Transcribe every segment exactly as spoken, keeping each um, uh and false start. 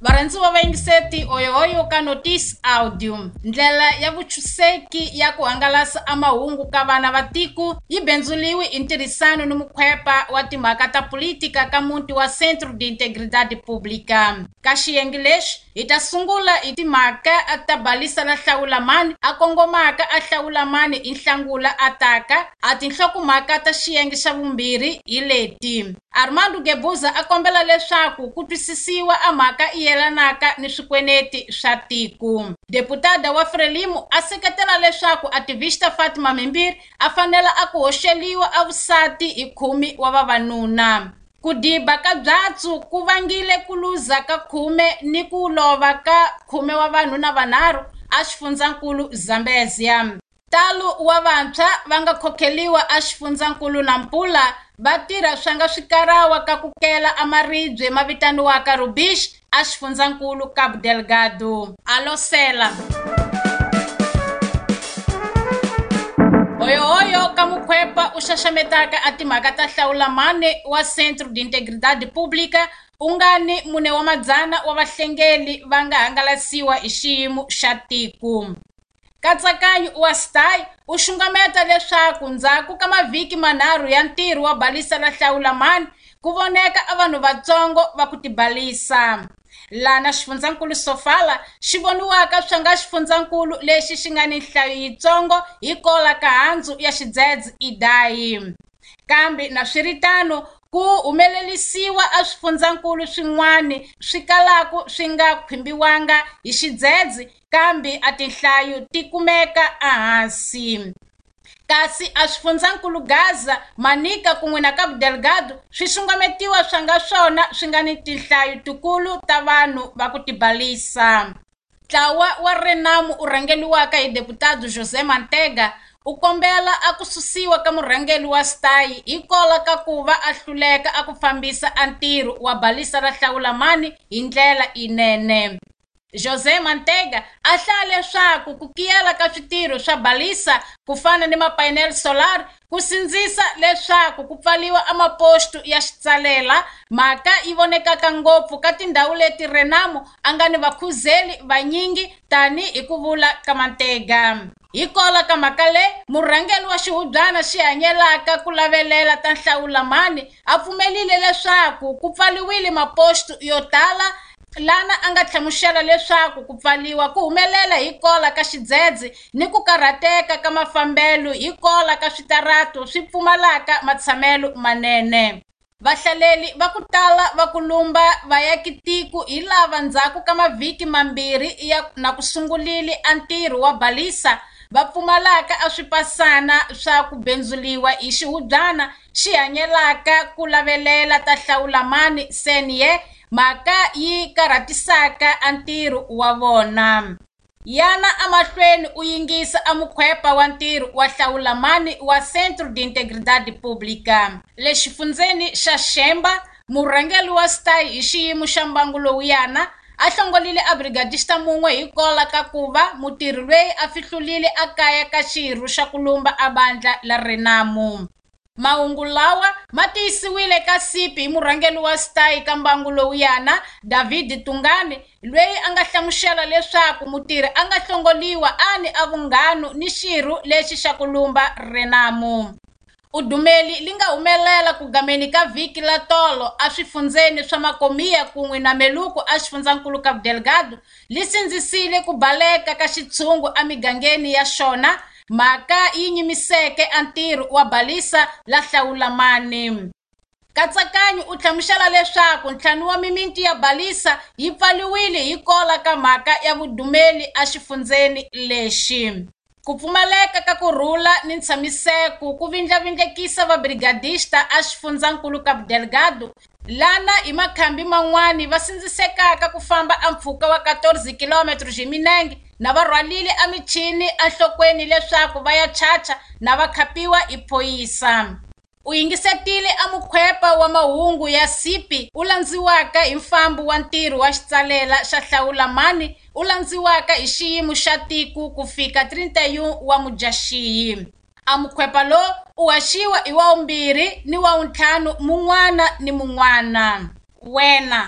Varandzuva vaingiseti oyohoyo ka Notice Audio. Ndlela ya vuchuseki ya ku hangalasa amahungu ka vana va tiko yi benzuliwi hi ntirhisano ni mukhwepa wa timhaka ta politika ka muti wa Centro de Integridade Pública. Ka xiyenge lexi hi ta sungula hi timhaka ta balisa la Hlawulamani a kongomaka a Hlawulamani hi Nhlangula a taka a tinhlokomhaka ta xiyenge xa vumbirhi hi leti. Armando Guebuza a kombela leswaku ku twisisiwa a mhaka yelanaka ni swikweneti swa tiko. Deputada wa Frelimo a seketela leswaku ativista Fatima Mimbiri a fanela a ku hoxeliwa avusati hi khumi wa vavanuna. Ku diba ka byatsu ku vangile ku luza ka khume ni ku lova ka khume wa vanhuna vanharhu a xifundzankulu Zambezia. Talo wa vantshwa va nga khokheliwa a xifundzankulu Nampula va tirha swa nga swikarawa ka ku kela amaribye ma vitaniwaka Rubish a xifundzankulu Cabo Delgado. Alosela Oyohoyo ka mukhwepa u xaxametaka a timhaka ta Hlawulamani wa Centro de Integridade Pública u nga ni mune wa madzana wa vahlengeli va nga hangalasiwa hi xiyimo xa tiko. Katsakanyo wa Stay u xungameta leswaku ndzhaku ka mavhiki manharhu ya ntirho wa balisa la Hlawulamani ku voneka a vanhu vatsongo va ku tibalisa. Lana xifundzankulu Sofala xi voniwaka swa nga xifundzankulu lexi xi nga ni nhlayo yitsongo hi kola ka handzu ya xidzedze Idai. Kambe na swiritano ku humelelisiwa a swifundzankulu swin'wana swi kalaku swi nga khumbiwanga hi xidzedze kambe a tinhlayo ti kumeka ehansi. Kasi a swifundzankulu Gaza, Manica kun'we na Cabo Delgado swi xungametiwa swa nga swona swi nga ni tinhlayo tikulu ta vanhu va ku tibalisa. Ntlawa wa Renamo u rhangeliwaka hi deputado José Mantega u kombela a ku susiwa ka murhangeli wa Stay hi kola ka ku va a hluleka a ku fambisa a ntirho wa balisa ra Hlawulamani hi ndlela inene. José Mantega a hlaya leswaku ku kiyela ka switirho swa balisa ku fana ni mapanel solar ku sindzisa leswaku ku pfaliwa amapostu ya xitsalela mhaka yi vonekaka ngopfu ka tindhawu leti Renamo a nga ni vakhuzeli vanyingi tani hi ku vula ka Mantega. Hi kola ka mhaka leyi murhangeli wa xihubyana xi hanyelaka ku lavelela ta Hlawulamani a pfumelile leswaku ku pfaliwile mapostu yo tala lana a nga tlhamuxela leswaku ku pfaliwa ku humelela hi kola ka xidzedze ni ku karhateka ka mafambelo hi kola ka switarato swi pfumalaka matshamelo manene. Vahlaleli va ku tala va ku lumba vayakitiko hi lava ndzhaku ka mavhiki mambirhi ya na ku sungulile a ntirho wa balisa va pfumalaka a swipasana swa ku benzuliwa hi xihubyana xi hanyelaka ku lavelela ta Hlawulamani senye mhaka yi karhatisaka a ntirho wa vona. Yana amahlweni u yingisa a mukhwepa wa ntirho wa Hlawulamani wa Centro de Integridade Pública. Le xifundzeni xa Xemba murhangeli wa Stay hi xiyimo xa mbangu lowuyana a hlongolile a brigadista mun'we hi kola ka ku va mutirhi loyi a fihlulile a kaya ka xirho xa ku lumba a bandla la Renamo. Mahungu lawa ma tiyisiwile ka sipi hi murhangeli wa Stay ka mbangu lowuyana David Tungane loyi a nga hlamuxela leswaku mutirhi a nga hlongoliwa a ni a vunghanu ni xirho lexi xa ku lumba Renamo. Udumeli li nga humelela ku gameni ka vhiki la tolo a swifundzeni swa Makomiya kun'we na Meluku a xifundzankulu Cabo Delgado li sindzisile ku baleka ka xitshungu a migangeni ya xona mhaka yi nyimiseke a ntirho wa balisa la Hlawulamani. Katsakanyo u hlamuxela leswaku ntlhanu wa mimiti ya balisa yi pfaliwile hi kola ka mhaka ya vudumeli a xifundzeni lexi. Ku pfumaleka ka kurhula ni ntshamiseko ku vindlavindlekisa vabrigadista a xifundzankulu Cabo Delgado lana hi makhambi man'wani va sindzisekaka ku famba a mpfhuka wa quatorze kilometros hi milenge na va rhwalile a michini a nhlokweni leswaku va ya chacha na va khapiwa hi phoyisa. U yingisetile a mukhwepa wa mahungu ya sipi u landziwaka hi mfambo wa ntirho wa xitsalela xa Hlawulamani u landziwaka hi xiyimo xa tiko ku fika thirty and one wa Mudyaxihi. A mukhwepa lo u haxiwa hi wa vumbirhi ni wa vuntlhanu mun'wana ni mun'wana. Wena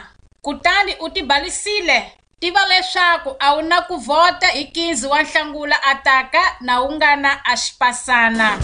kutani u tibalisile. Tiva leswaku a wu na ku vota hi quinze wa Nhlangula ataka na u nga na a xipasana.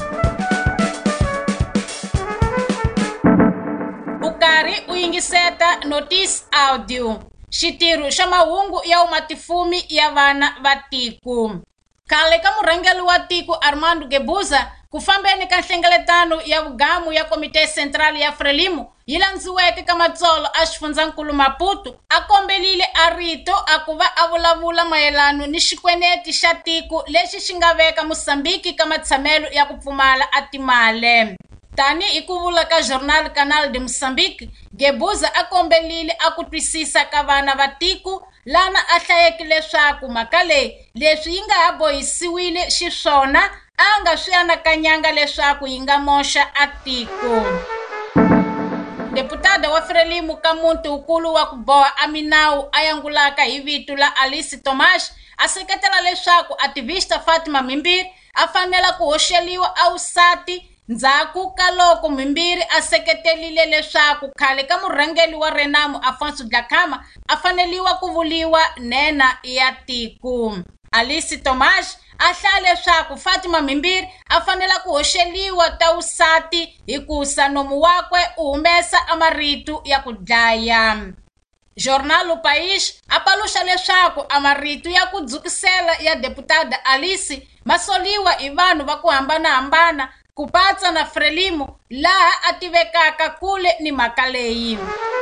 U karhi u yingiseta notice audio, xitirho xa mahungu ya umatifumi ya vana va tiko. Khale ka murhangeli wa tiko Armando Guebuza ku fambeni ka nhlengeletano ya vugamu ya Komite Central ya Frelimo yi landziweke ka matsolo a xifundzankulu Maputo, a kombelile a rito a ku va a vulavula mayelano ni xikweneti xa tiko lexi xi nga veka Mosambiki ka matshamelo ya ku pfumala a timale. Tani hi ku vula ka Jornal Canal de Moçambique, Guebuza a kombelile a ku twisisa ka vana va tiko, lana a hlayeke leswaku mhaka leyi leswi yi nga ha bohisiwile xiswona a nga swi anakanyanga leswaku yi nga moxa a tiko. Deputada wa Frelimo ka muntinkulu wa ku boha a minawu a yangulaka hi vito la Alice Tomas a seketela leswaku ativista Fatima Mimbiri a fanela ku hoxeliwa awusati ndzhaku ka loko Mimbiri a seketelile leswaku khale ka murhangeli wa Renamo Afonso Dhlakama a faneliwa ku vuliwa nena ya tiko. Alice Tomas a hlaya leswaku Fatima Mimbiri a fanela ku hoxeliwa tawusati hikusa nomu wakwe u humesa amaritu ya ku dlaya. Jornal O País a paluxa leswaku amaritu ya ku dzukisela ya deputada Alice masoliwa hi vanhu va ku hambanahambana ku patsa na Frelimo laha a tivekaka kule ni mhaka leyi.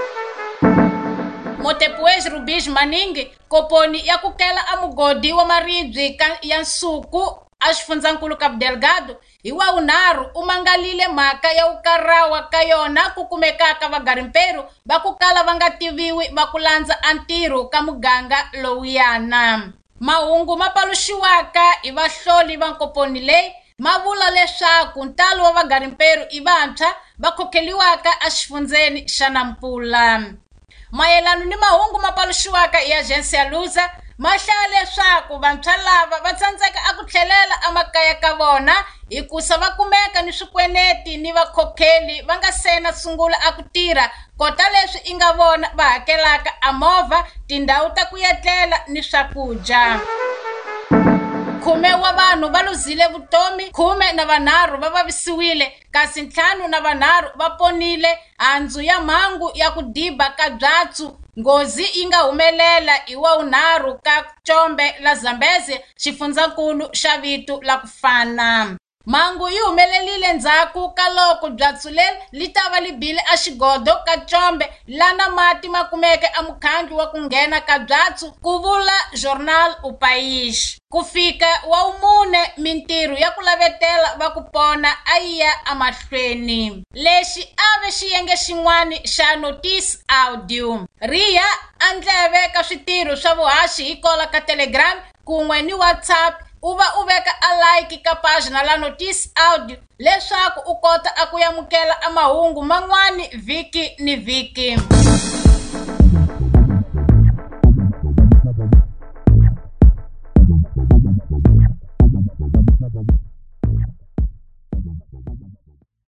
Motepuez Rubis Maningi, koponi ya ku kela a mugodi wa maribye ya nsuku a xifundzankulu Cabo Delgado hi wa unharhu u mangalile mhaka ya ukarawa ka yona ku kumekaka vagarimperu va ku kala va nga tiviwi va ku landza a ntirho ka muganga lowuyana. Mahungu ma paluxiwaka hi vahloli va nkoponi leyi ma vula leswaku ntalo wa vagarimperu i vantshwa va khokeliwaka a xifundzeni xa Nampula. Mayelano ni mahungu ma paluxiwaka hi Agência Lusa ma hlaya leswaku vantshwa lava va tsandzeka a ku tlhelela amakaya ka vona hikusa va kumeka ni swikweneti ni vakhokheli va nga sena sungula a ku tirha kota leswi i nga vona va hakelaka a movha, tindhawu ta ku etlela ni swakudya. Khume wa vanhu va luzile vutomi, khume na vanharhu va vavisiwile, kasi ntlhanu na vanharhu va ponile handzu ya mhangu ya ku diba ka byatsu. Ngozi yi nga humelela hi wa unharhu ka Combe la Zambezi, xifundzankulu xa vito la ku fana. Mhangu yi humelelile ndzhaku ka loko byatsu leri li ta va li bile a xigodo ka Combe lana mati ma kumeke a mukhandli wa ku nghena ka byatsu, ku vula Jornal O País. Ku fika wa umune mintirho ya ku lavetela va ku pona a yi ya amahlweni. Lexi a ve xiyenge xin'wana xa notice audio. Riya a ndleve ka switirho swa vuhaxi hi kola ka Telegram kun'we ni WhatsApp u va u veka a like ka pagina la notice audio leswaku u kota a ku yamukela a mahungu man'wani vhiki ni vhiki.